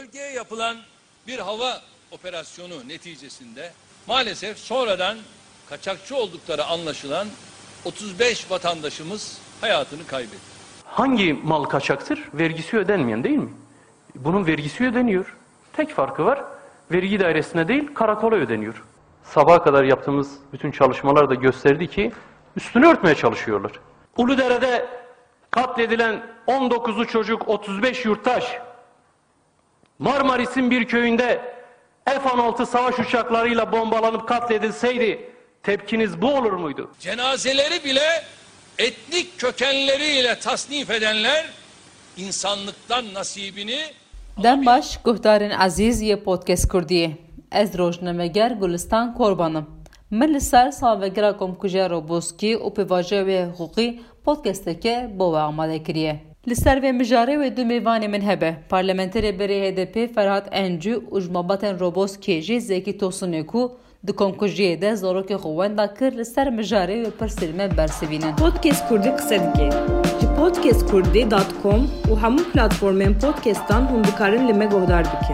bölgeye yapılan bir hava operasyonu neticesinde maalesef sonradan kaçakçı oldukları anlaşılan 35 vatandaşımız hayatını kaybetti. Hangi mal kaçaktır? Vergisi ödenmeyen değil mi? Bunun vergisi ödeniyor. Tek farkı var. Vergi dairesine değil, karakola ödeniyor. Sabaha kadar yaptığımız bütün çalışmalar da gösterdi ki üstünü örtmeye çalışıyorlar. Uludere'de katledilen 19'u çocuk, 35 yurttaş, Marmaris'in bir köyünde F-16 savaş uçaklarıyla bombalanıp katledilseydi tepkiniz bu olur muydu? Cenazeleri bile etnik kökenleriyle tasnif edenler insanlıktan nasibini... Dem baş guhdarên ezîz yê podcast Kurdiyê. Ez rojnameger Gulistan Korbanım. Min li ser salvegera Komkujeya Roboskî û pêvajoya wê hiqûqî podcasteke bo we amade kiriye. Li ser vê mijarê wê du mêvanê min hebe. Parlamenterê berê HDP Ferhat Encû û ji malbatên Roboskê jî Zekî Tosunê ku di Komkujiyê de zarokê xwe wenda kir li ser mijarê wê pir sêlme bersivînin. Podcast Kurdî qise dike. Ji podcastkurdî.com û hemû platformên podcastan hûn dikarin li me guhdar bikin.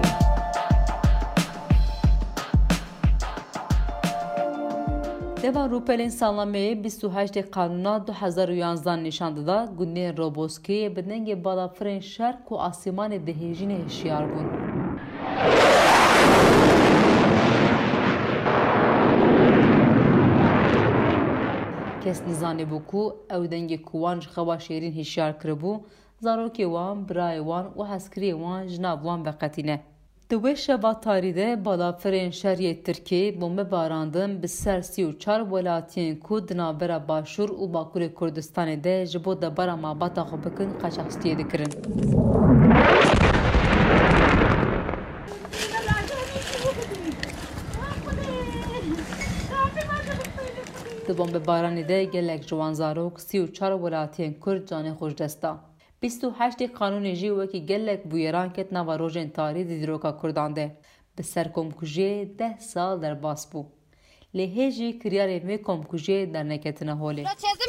Deva Rûpelên Salameyê 28 Kanûna 2011 nîşan dida gundên Roboskiyê bi dengê balafirên şerq û asîmanê dihêjînê hişyar bûn. Kes nîzanîbû ku ew dengê ku wan ji xewa şêrîn hişyar kiribû, zarokê wan, birayê wan û hezkiriyê wan ji nav wan veqetîne. Di wê şeva tarî de balafirên şeriyê Tirkiyê bombebarandin bi ser 34 welatiyên ku di navbera Başûr û Bakurê Kurdistanê de ji bo debara malbata xwe bikin qaçaxistiyê dikirin. Di bombebaranê de gelek ji wan zarok 34 welatiyên Kurd canê xwe ji dest da. 28 Kanûnê jî wekî gelek bûyeran ket nava rojên tarî di dîroka Kurdan de. Bi ser komkujiyê 10 sal derbas bû. Lê hêjî kiryarên wê komkujiyê derneketine holê.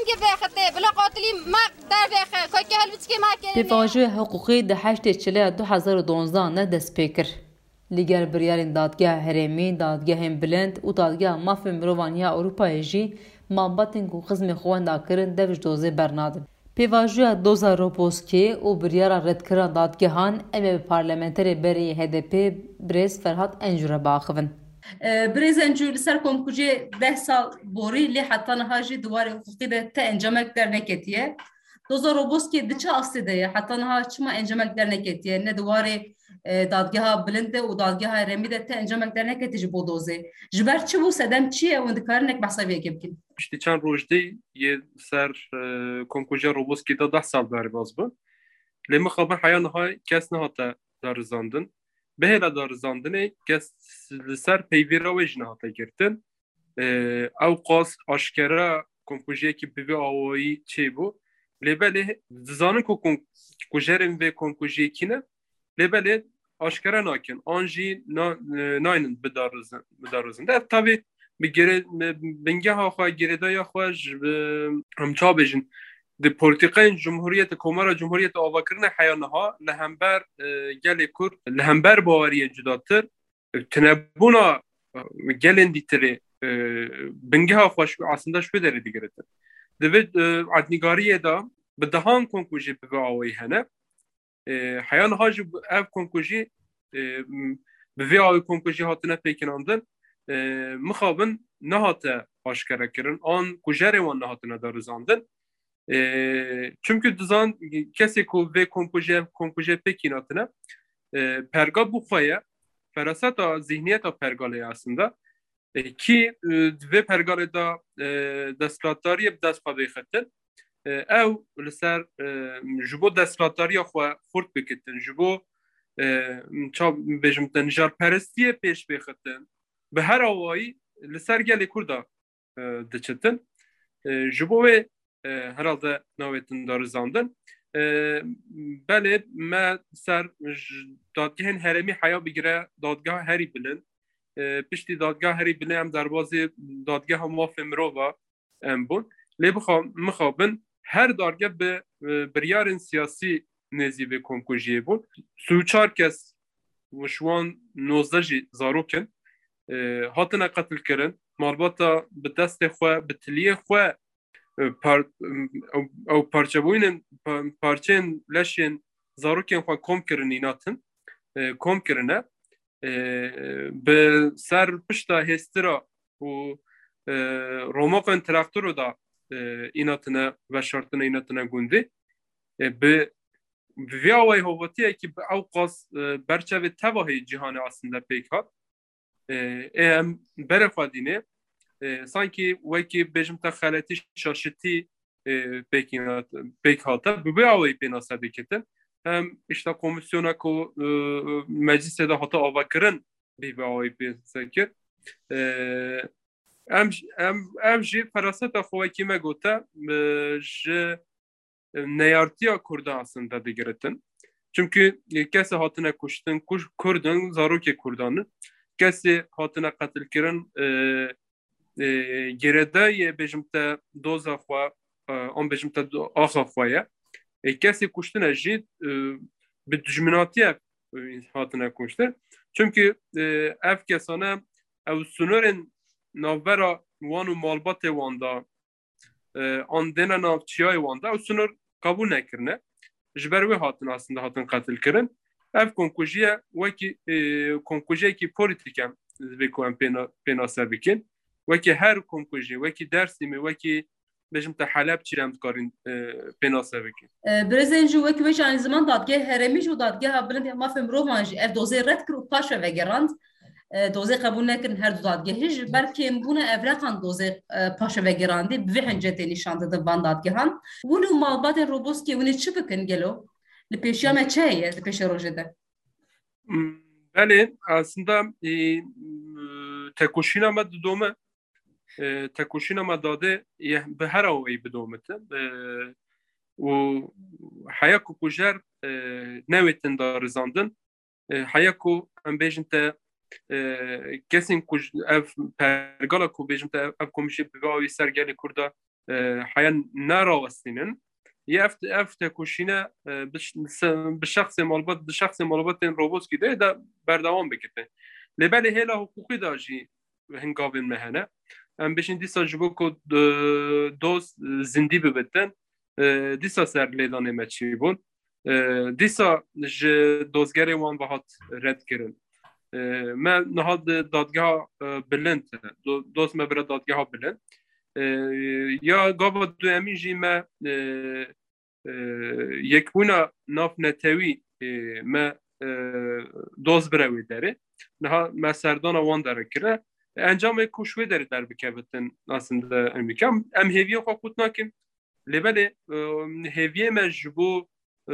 Pêvajoya hiqûqî di 8 Çileya 2012 ne dest pê kir. Lîger biryarên dadgeha herêmî, dadgehên bilind û dadgeha mafên mirovan ya Ewropayê jî malbatên ku xizmê xwe wenda kirin dev ji dozê bernadin. Pêvajoya doza Roboskê û biryara redkirina dadgehan em ê bi parlamenterê berê HDP Birêz Ferhat Encû re biaxivin. Birêz Encû li ser komkujiyê 10 sal borî lê heta niha jî diwarê hiqûqî de te encemek derneketiye. Doza Roboskê di çi asê de ye heta niha çima encemek derneketiye ne diwarê dadgeha bilind de û dadgeha herêmî de te encemek derneketî ji bo dozê. Ji ber çi bû sedem çi ye hûn dikarin ek behsa vê bikin? İşte çend rojdê yê ser Komkujeya Roboskê de 10 sal derbas bû. Lê mixabin heya niha kes nehate darizandin. Bihêla darizandinê kes li ser peyvêra wê jî nehate girtin. Ew qas aşkera komkujiyekî bi vê awayî çêbû. Lêbelê dizanin ku kujerên vê komkujiyekî ne lêbelê aşkera nakin. An jî naynin bidarizin. Ev tabii bi bingeha xwe girêdaya xwe ji em çabêjin di polîtikayên Cumhuriyetê Komara Cumhuriyetê avakirina heya niha li hember gelê Kurd li hember baweriyê cudatir tinebûna gelên dîtirê bingeha xwe aslında şwê derê digiritin. Divê etnîgariyê de bi dehan konkujî bi vê awayî hene. Heya niha jî ev konkujî bi vê awayî konkujî hatine pêkînandin mixabin nehate aşkere kirin an kujerê wan nehatine darizandin. Çünkü dizan kesê ku vê kompujê pêkînatine perga bû xwe ye feraseta zihniyeta pergalê aslında ki vê pergalê da desthilatdariyê bi dest xwe bêxetin ew li ser ji bo desthilatdariya xwe xurt bikitin ji bo bêjim te nijarperestiyê pêş bêxetin bi her awayî li ser gelê Kurda diçitin ji bo wê herhalde nawetin darizandin belê me ser dadgehên herêmî heya bigire dadgeha herî bilin piştî dadgeha herî bilin em derbasê dadgeha mafê mirova em bûn lê mixabin her darge bi biryarên siyasî nêzî vê komkujiyê bûn 34 kes وشوان 19 زاروکن هاتنا قتل کرن مالباتا به دست خو به تلیه خو او پارچبوین پارچین لشین زاروکن خو کم کرن ایناتن کم کرنه به سر پشتا هسترا و روماقن تراکتورو دا ایناتنه و شرطنه ایناتنه گونده به ویاوی هواتیه که به اوقاس برچه تواهی جهان aslında pek hat برخوادینه sanki وکی بجم تخلتی شاشتی pek hata bu vیاوی penasa diketen hem işte komisyona ko mecliste de hata avakırın bir vیاوی pensakir em jî feraseta xwe kî me gote ji neyartiya Kurdan aslında digiritin. Çünkü kesi hatine kuştin, Kurdun, zarokê Kurdanı, kesi hatine qetil kirin gerede yê bêjimte doza xwe, an bêjimte axa xwe ye. Kesi kuştine jî bi dijminatiye hatine kuştin. Çünkü ev kesane ev sunurên navbera wan û malbatê wan da an dêne navçiyayê wan da ew sunur kabul nekirine. Ji ber wê hatin aslında hatin qetil kirin. Ev konkujiye wekî konkujiyekî polîtîk em divê ku em pênase bikin. Wekî her konkujî, wekî Dersîmê, wekî bêjim te Helepçî em dikarin pênase bikin. Birêzên jî wekî wê aynı zaman dadgeh herêmî û dadgeha bilind ya mafê mirovan jî ev dozê red kir û paş ve vegerand. Dozê qebûl nekirin her du dadgehê ji ber kêmbûna evreqan dozê paşa vegerandî bi vê hincetê nîşan didin van dadgehan. Hûn û malbatên Roboskî hûnê çi bikin gelo? Li pêşiya me çi heye li pêşa rojê de? Belê aslında tekoşîna me didome tekoşîna me dadê bi her awayî bidomite û heya ku kujer newêtin da rizandin heya ku em bêjin te kesên ku ev pergala ku bêjim te ev komîşê bi wî sergelê Kurda heya nerawestînin ya ev tekoşîne bi şexsê malbatên Roboskî de de berdewam bikite. Lêbelê hêla hukukî da jî hingavên me hene. Em bêjin dîsa ji bo ku doz zindî bibitin dîsa ser lêdanê me çîbûn. Dîsa ji dozgerê wan bihat red kirin. Me niha dadgeha bilind dost me bira dadgeha bilind. Ya gava duemî jî me yekbûna nav netewî me doz bira wê derê. Niha me serdana wan derekire. Encamê ku şwê derê derbikevitin aslında em bikim. Em hêviya xwe qut nakin. Lêbelê hêviyê me ji bo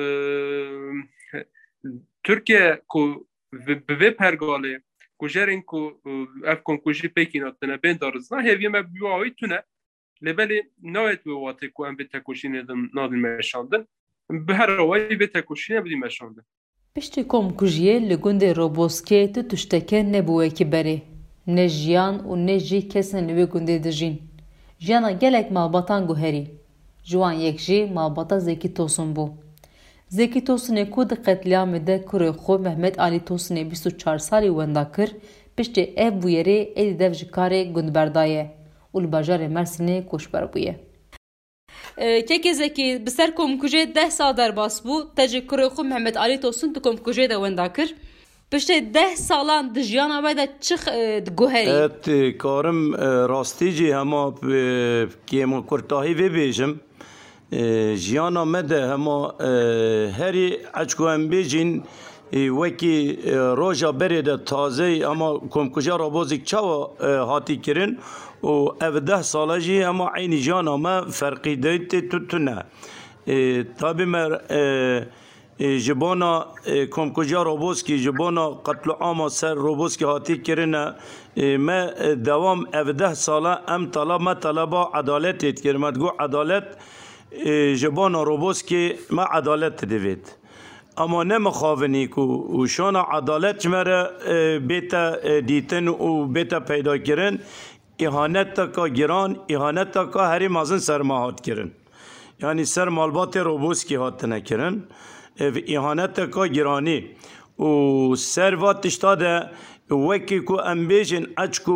Türkiye ku bi vê pergalê kujerên ku ev konkujî pêkî natine bên darizna hêviyê me bi awî tune. Lêbelê nayet wê watê ku em vê tekoşînê nadin meşandin. Bi her awayî vê tekoşînê bidî meşandin. Piştî komkujiyê li gundê Roboskê tu tişteke nebû wekî berê. Ne jiyan û ne jî kesên li wê gundê dijîn. Jiyana gelek malbatan guherî. Ji wan yek jî malbata Zekî Tosun bû. Zekî Tosunê ku di qetlyamê de kurê xwe Mehmet Alî Tosunê 24 salî wenda kir, piştî ev bûyerê êdî dev ji karê gundberda ye û li bajarê Mersinê koçber bûye. Kekê Zekî bi ser komkujê 10 sal derbas bû, te ji kurê xwe Mehmet Alî Tosun di komkujê de wenda kir. Piştî 10 salan di jiyana we de çi guherî? Et karim rastî jî hema kêmokurtahî vê bêjim. Jiyana me de hema herî eç ku em bêjin wekî roja berê de tazeyî ama komkuja Robozik çawa hatî kirin û ev 10 sala jî hema eynî jiyana me ferqî de tê tune. Tabî me ji bona komkuja Roboskî ji bona qetliama ser Roboskî hatî kirine me dewam ev 10 sala em me taleba edaletê dikirin. Me digo edalet ji bona Roboskî me edalet divêt. Ama ne mixavinî ku şana edalet ji me re bête dîtin û bête peydakirin îhaneteka giran, îhaneteka herî mezin ser me hat kirin. Yani ser malbatê Roboskî hatine kirin. Ev îhaneteka giranî و سروات تشتاده وکی کو امبیجن اچکو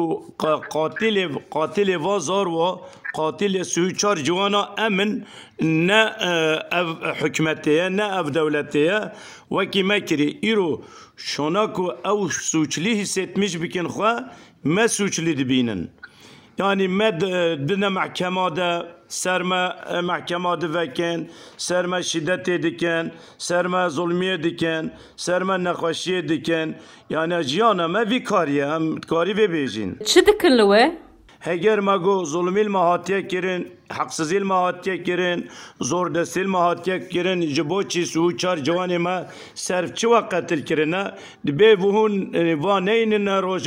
قاتل وازار و قاتل سوچار جوانا امن نه حکمتیه نه اف دولتیه وکی مکری ایرو شوناکو او سوچلی حسیتمیش بکن خواه ما سوچلی دبینن yani med dine mahkemada serme mahkemada veken, serme şiddet ediken, serme zulmiye diken, serme nekaşiye diken, yani ciyana me vikariye hem kari ve bejin. Çi dikin li we? Heger mago zulmil mahatiye kirin, haksızil mahatiye kirin, zor desil mahatiye kirin, jiboçi suçar cevani ma serfçi ve katil kirine, dibe vuhun vaneynin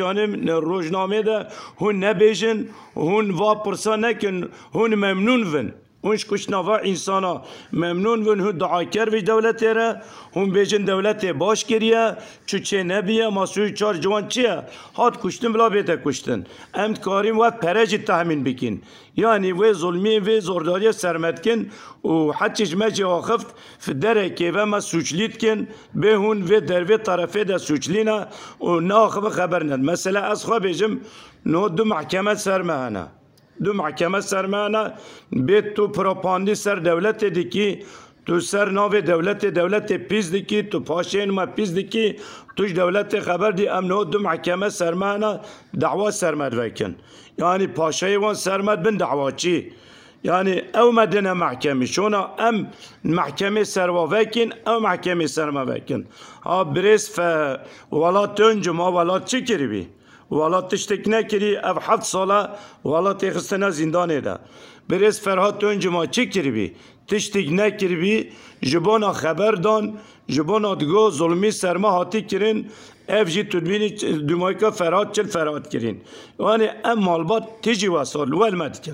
rojname de hun ne bejin, hun va pırsa nekin, hun memnun vin. Hunş kuşnava insana memnun vin hun daaker ve devletlere, hun bejin devlete baş geriye, çüçe nebiye, masuyu çar civan çiye, hat kuştun bila bete kuştun. Emt karim ve pereci tahmin bikin. Yani ve zulmi ve zordariye sermetkin, و حتیش مجی آخفت فدره که و ما سوچلیت کن به هون و در و طرفه ده سوچلینا و ناخب خبر ند مثلا از خواه بیجم نو دو محکمه سرمهانا دو محکمه سرمهانا بیت تو پروپاندی سر دولت دیکی تو سر ناو دولت پیز دیکی تو پاشین ما پیز دیکی توش دولت خبر دی ام نو دو محکمه سرمهانا دعوا سرمد وکن یعنی پاشای وان سرمد بن دعوا چی yani ev medene mahkemi şuna em mahkeme servavekin ev mahkeme servavekin ha bires fe valat önce ma valat çekiribi valat tiştekne kiri ev haft sala valat existena zindan eda bires ferhat önce ma çekiribi tiştekne kiribi jibona haberdan jibona dgo zulmi serma hati kirin ev jî tudbînî dumayka ferhat çil ferhat kirin yani em malbat tiji vasal welme dikin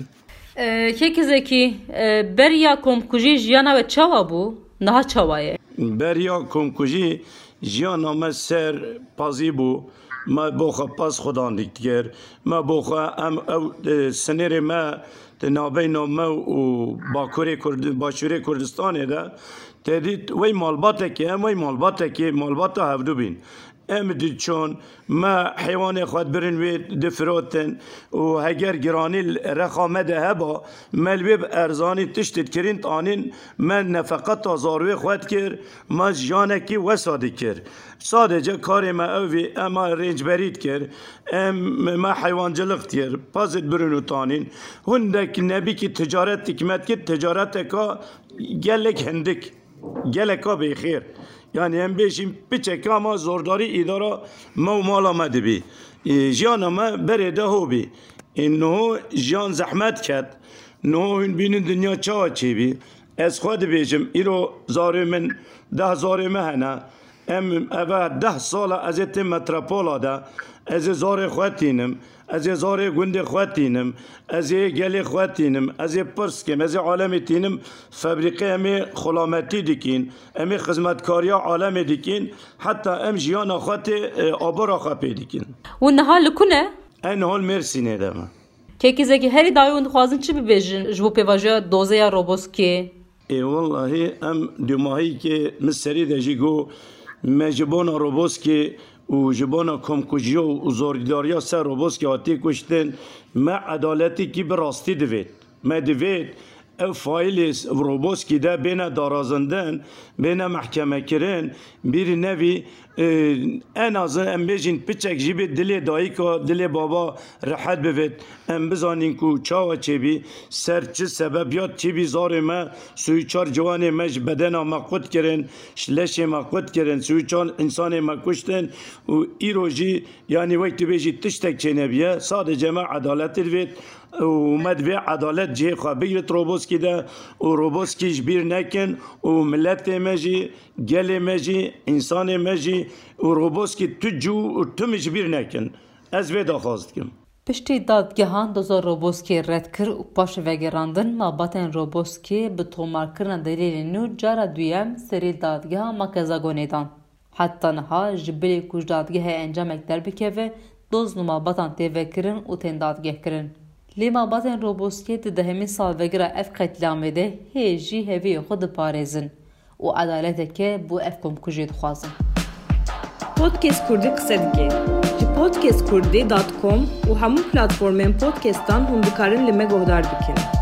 Kekizeki beriya komkuji jiyana ve çawa bu, naha çawaye. Beriya komkuji jiyana me ser pazî bû, me boxa pas xudan diktir, me boxa em ew sinêrê me di navbeyna me û Başûrê Kurdistanê de tedî wey malbatekê em wey malbata hevdû bîn. Em diçon ma heywanê xwe birin wê difirotin û heger giranî rexa me de heba melwê bi erzanî tiştê kirin anîn me nefeqeta zarwê xwe dikir me jiyanekî wesa dikir sadece karê me ew vê ema rêncberî dikir em me heywancılık dikir pazit birin û tanîn hûndek nebîkî ticaret dikmet kir ticareteka gelek hindik geleka bêxêr yani em bêjîm piçek ama zordari îdara me û mala me dibî jiyana me berê de hobî niho jiyan zehmet ket niho hûn bînin dinya çawa çêbî ez xwe dibêjim îro zarê min 10 zarê me hene em eve 10 sala ez ê têm metropola de ez ê zarê xwe tînim ez ê zarê gundê xwe tînim ez ê gelê xwe tînim ez ê pirs kim ez ê alemê tînim febrîqê em ê xulametî dikîn em ê xizmetkariya alemê dikîn heta em jiyana xwe tê abara xwe pê dikîn û niha li ku ne? em nihal Mêrsînê de me Kekizeki herî dayê hûn dixwazin çi bibêjin ji bo pêvajoya dozeya Roboskê? Wallahi em dûmahîkê min serî de jî got me ji bona Roboskê û ji bona komkujiya û zordariya ser Roboskê hatî kuştin me edaletîkî bi rastî divêt me divêt ev faîlê Roboskê de bêne darazandin bêne mehkemekirin bîrî nevî en azin em bêjin piçek jî bê dilê dayîka dilê baba rehet bivêt em bizanîn ku çawa çêbî ser çi sebeb ya çêbî zarê me sûyçar ciwanê me ji bedena me qut kirin ji leşê me qut kirin sûyçar însanê me kuştin û îro jî yanî wek tu bêjî tiştek çênebiye sadece me edaletê divêt û me divê edalet cihê xwe bigrit Roboskê de û Roboskê ji bîr nekin û milletê me jî gelê me jî însanê me jî û Roboskê tu cû û tu min ji bîr nekin ez vê daxwaz dikim Piştî dadgehan doza Roboskê red kir û paş vegerandin malbatên Roboskê bi tomarkirina delêlên nû cara duyem serê dadgeha Makezagonê dan. Heta niha ji bilê ku ji dadgehê encamek derbikeve doz nû malbatan tê vekirin û tên dadgehkirin. Lê malbatên Roboskê di dehemîn salvegira ev qetlamê de hê jî heviyê xwe diparêzin û edaleteke bû ev komkujiyê dixwazin. Podcast Kurdî qise dike. Ji podcastkurdî.com û hemû platformên podcastan hûn dikarin li me guhdar bikin.